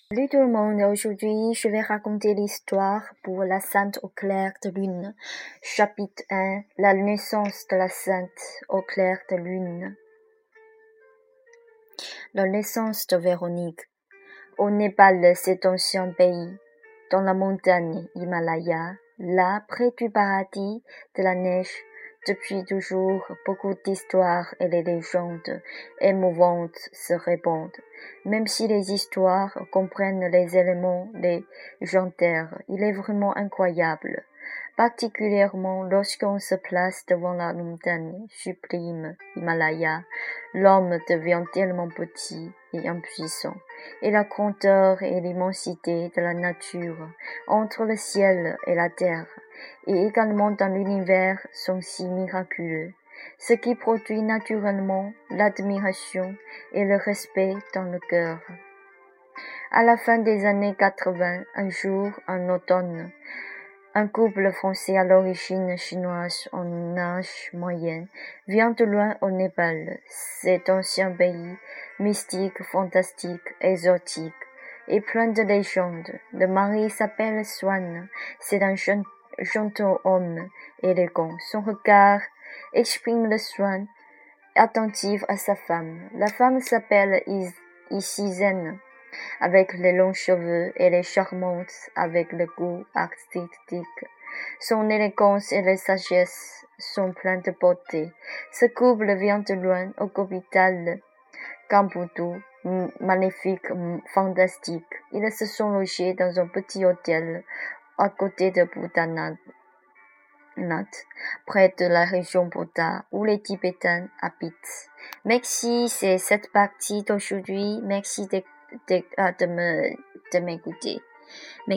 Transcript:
Salut tout le monde, aujourd'hui je vais raconter l'histoire pour la Sainte au clair de lune. Chapitre 1, la naissance de la Sainte au clair de lune. La naissance de Véronique. Au Népal, cet ancien pays, dans la montagne Himalaya, là, près du paradis de la neige, depuis toujours, beaucoup d'histoires et les légendes émouvantes se répandent. Même si les histoires comprennent les éléments légendaires, il est vraiment incroyable, particulièrement lorsqu'on se place devant la montagne sublime Himalaya. L'homme devient tellement petit et impuissant, et la grandeur et l'immensité de la nature entre le ciel et la terre, et également dans l'univers, sont si miraculeux, ce qui produit naturellement l'admiration et le respect dans le cœur. À la fin des années 80, un jour, en automne, un couple français à l'origine chinoise en âge moyen vient de loin au Népal, cet ancien pays mystique, fantastique, exotique et plein de légendes. Le mari s'appelle Swan, c'est un gentilhomme élégant. Son regard exprime le soin attentif à sa femme. La femme s'appelle Isizen, avec les longs cheveux, et les charmante avec le goût artistique. Son élégance et la sagesse sont pleines de beauté. Ce couple vient de loin, au capital Kambudu, magnifique, fantastique. Ils se sont logés dans un petit hôtel à côté de Bouddhanath, près de la région Bouddha, où les Tibétains habitent. Merci, c'est cette partie d'aujourd'hui. Merci de m'écouter.